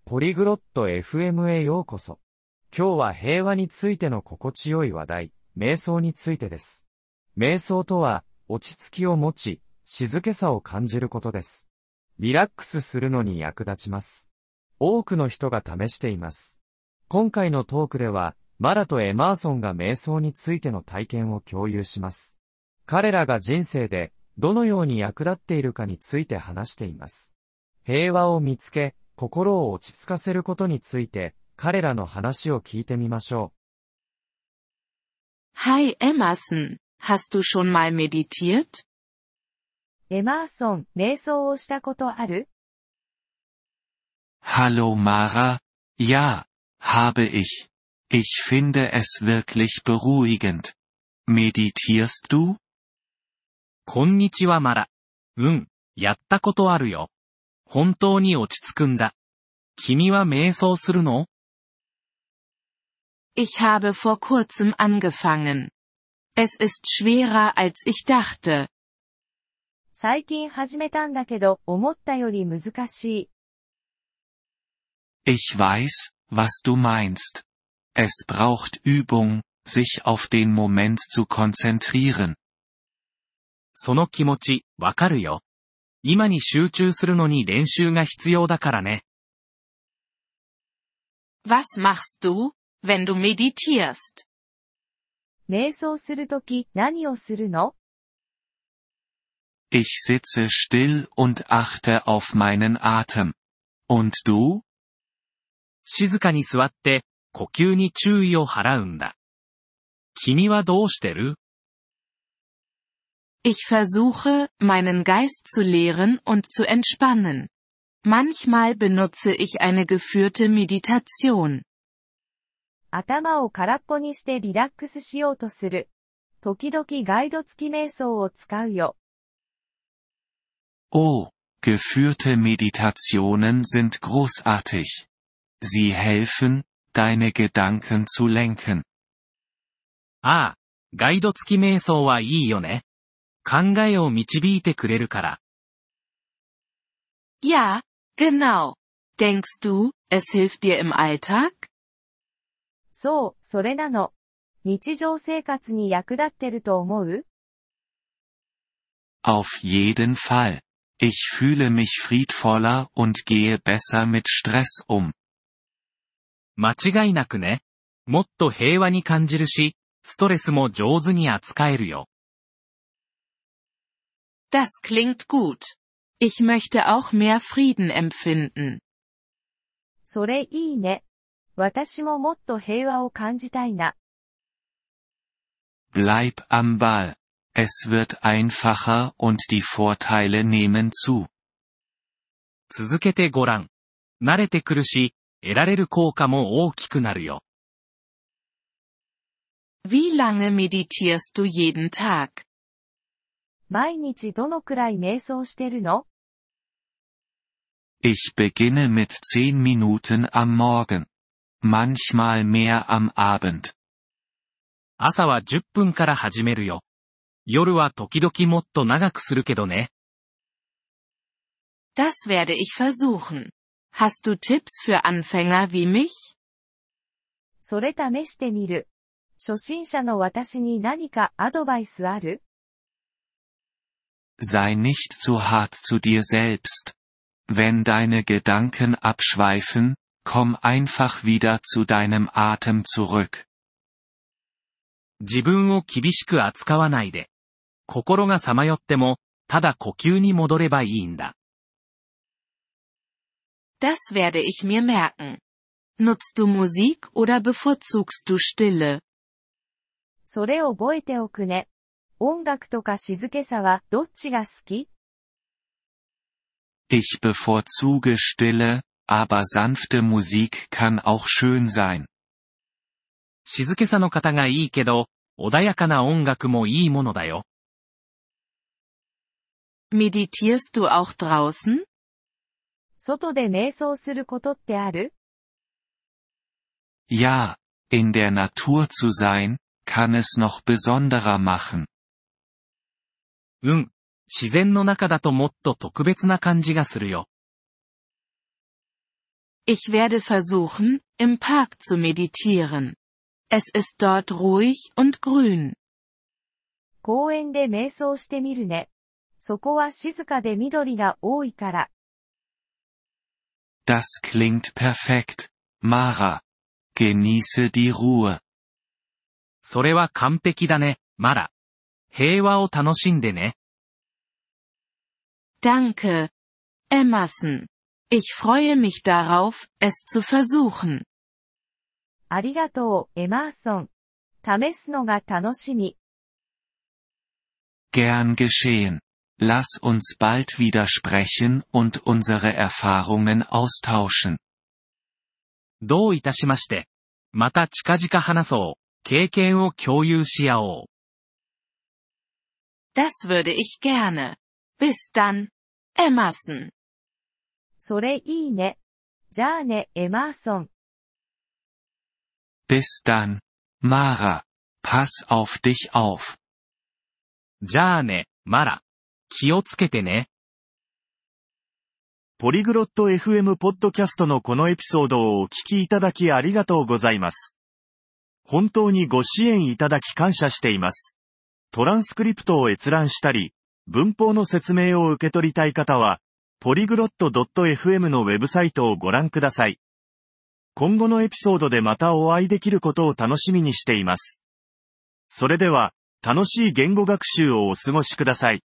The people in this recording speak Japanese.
ポリグロット FM へようこそ。今日は平和についての心地よい話題、瞑想についてです。瞑想とは、落ち着きを持ち、静けさを感じることです。リラックスするのに役立ちます。多くの人が試しています。今回のトークでは、マラとエマーソンが瞑想についての体験を共有します。彼らが人生で、どのように役立っているかについて話しています。平和を見つけ、心を落ち着かせることについて、彼らの話を聞いてみましょう。Hi Emerson, hast du schon mal meditiert? エマーソン、瞑想をしたことある？ Hallo Mara, ja, habe ich. Ich finde es wirklich beruhigend. Meditierst du? こんにちはマラ。やったことあるよ。本当に落ち着くんだ。君は瞑想するの？ Ich habe vor kurzem angefangen. Es ist schwerer als ich dachte. 最近始めたんだけど、思ったより難しい。Ich weiß, was du meinst. Es braucht Übung, sich auf den Moment zu konzentrieren. その気持ち、わかるよ。今に集中するのに練習が必要だからね。 Was machst du, wenn du meditierst? 瞑想するとき何をするの？ Ich sitze still und achte auf meinen Atem. Und du? 静かに座って、呼吸に注意を払うんだ。君はどうしてる？ Ich versuche, meinen Geist zu leeren und zu entspannen. Manchmal benutze ich eine geführte Meditation. 頭を空っぽにしてリラックスしようとする。時々ガイド付き瞑想を使うよ。 Oh, geführte Meditationen sind großartig. Sie helfen, deine Gedanken zu lenken. ああ、ガイド付き瞑想はいいよね。考えを導いてくれるから。 Ja, genau. Denkst du, es hilft dir im Alltag? そう、それなの。日常生活に役立ってると思う？ Auf jeden Fall. Ich fühle mich friedvoller und gehe besser mit Stress um. 間違いなくね。もっと平和に感じるし、ストレスも上手に扱えるよ。 Das klingt gut. Ich möchte auch mehr Frieden empfinden. それいいね。私ももっと平和を感じたいな。 Bleib am Ball. Es wird einfacher und die Vorteile nehmen zu. 続けてごらん。慣れてくるし、得られる効果も大きくなるよ。 Wie lange meditierst du jeden Tag? 毎日どのくらい瞑想してるの？ Ich beginne mit 10 Minuten am Morgen. Manchmal mehr am Abend. 朝は10分から始めるよ。夜は時々もっと長くするけどね。 Das werde ich versuchen. Hast du Tipps für Anfänger wie mich? それ試してみる。初心者の私に何かアドバイスある？ Sei nicht zu hart zu dir selbst. Wenn deine Gedanken abschweifen, komm einfach wieder zu deinem Atem zurück. 自分を厳しく扱わないで。心がさまよっても、ただ呼吸に戻ればいいんだ。 Das werde ich mir merken. Nutzt du Musik oder bevorzugst du Stille? それを覚えておくね。音楽とか静けさはどっちが好き？ Ich bevorzuge Stille, aber sanfte Musik kann auch schön sein. 静けさの方がいいけど、穏やかな音楽もいいものだよ。 Meditierst du auch draußen? 外で瞑想することってある？ Ja, in der Natur zu sein, kann es noch besonderer machen. 自然の中だともっと特別な感じがするよ。 Ich werde versuchen, im Park zu meditieren. Es ist dort ruhig und grün. 公園で瞑想してみるね。そこは静かで緑が多いから。 Das klingt perfekt, Mara. Genieße die Ruhe. それは完璧だね、マラ。平和を楽しんでね。 Danke, Emerson. Ich freue mich darauf, es zu versuchen. ありがとう、エマーソン。試すのが楽しみ。 Gern geschehen. Lass uns bald wieder sprechen und unsere Erfahrungen austauschen. どういたしまして。また近々話そう。経験を共有し合おう。 Das würde ich gerne. Bis dann, Emerson. それいいね。じゃあね、エマーソン。 Bis dann, Mara. Pass auf dich auf. じゃあね、マラ。気をつけてね。 ポリグロット FM ポッドキャストのこのエピソードをお聞きいただきありがとうございます。本当にご支援いただき感謝しています。トランスクリプトを閲覧したり、文法の説明を受け取りたい方は、ポリグロット .fm のウェブサイトをご覧ください。今後のエピソードでまたお会いできることを楽しみにしています。それでは、楽しい言語学習をお過ごしください。